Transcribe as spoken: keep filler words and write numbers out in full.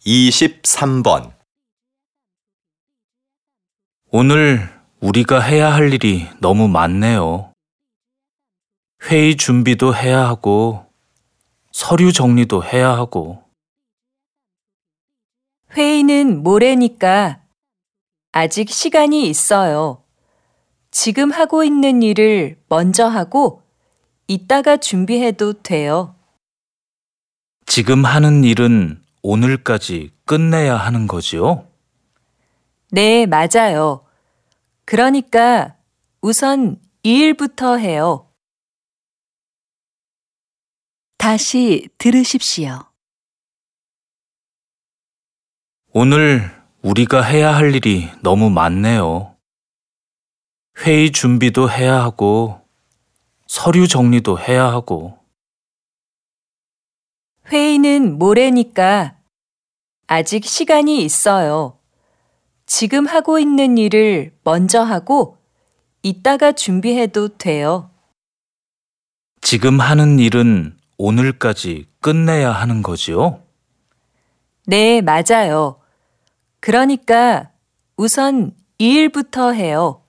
이십삼 번. 오늘 우리가 해야 할 일이 너무 많네요. 회의 준비도 해야 하고, 서류 정리도 해야 하고. 회의는 모레니까 아직 시간이 있어요. 지금 하고 있는 일을 먼저 하고 이따가 준비해도 돼요. 지금 하는 일은 오늘까지 끝내야 하는 거지요? 네, 맞아요. 그러니까 우선 이 일부터 해요. 다시 들으십시오. 오늘 우리가 해야 할 일이 너무 많네요. 회의 준비도 해야 하고, 서류 정리도 해야 하고. 회의는 모레니까 아직 시간이 있어요. 지금 하고 있는 일을 먼저 하고 이따가 준비해도 돼요. 지금 하는 일은 오늘까지 끝내야 하는 거지요? 네, 맞아요. 그러니까 우선 이 일부터 해요.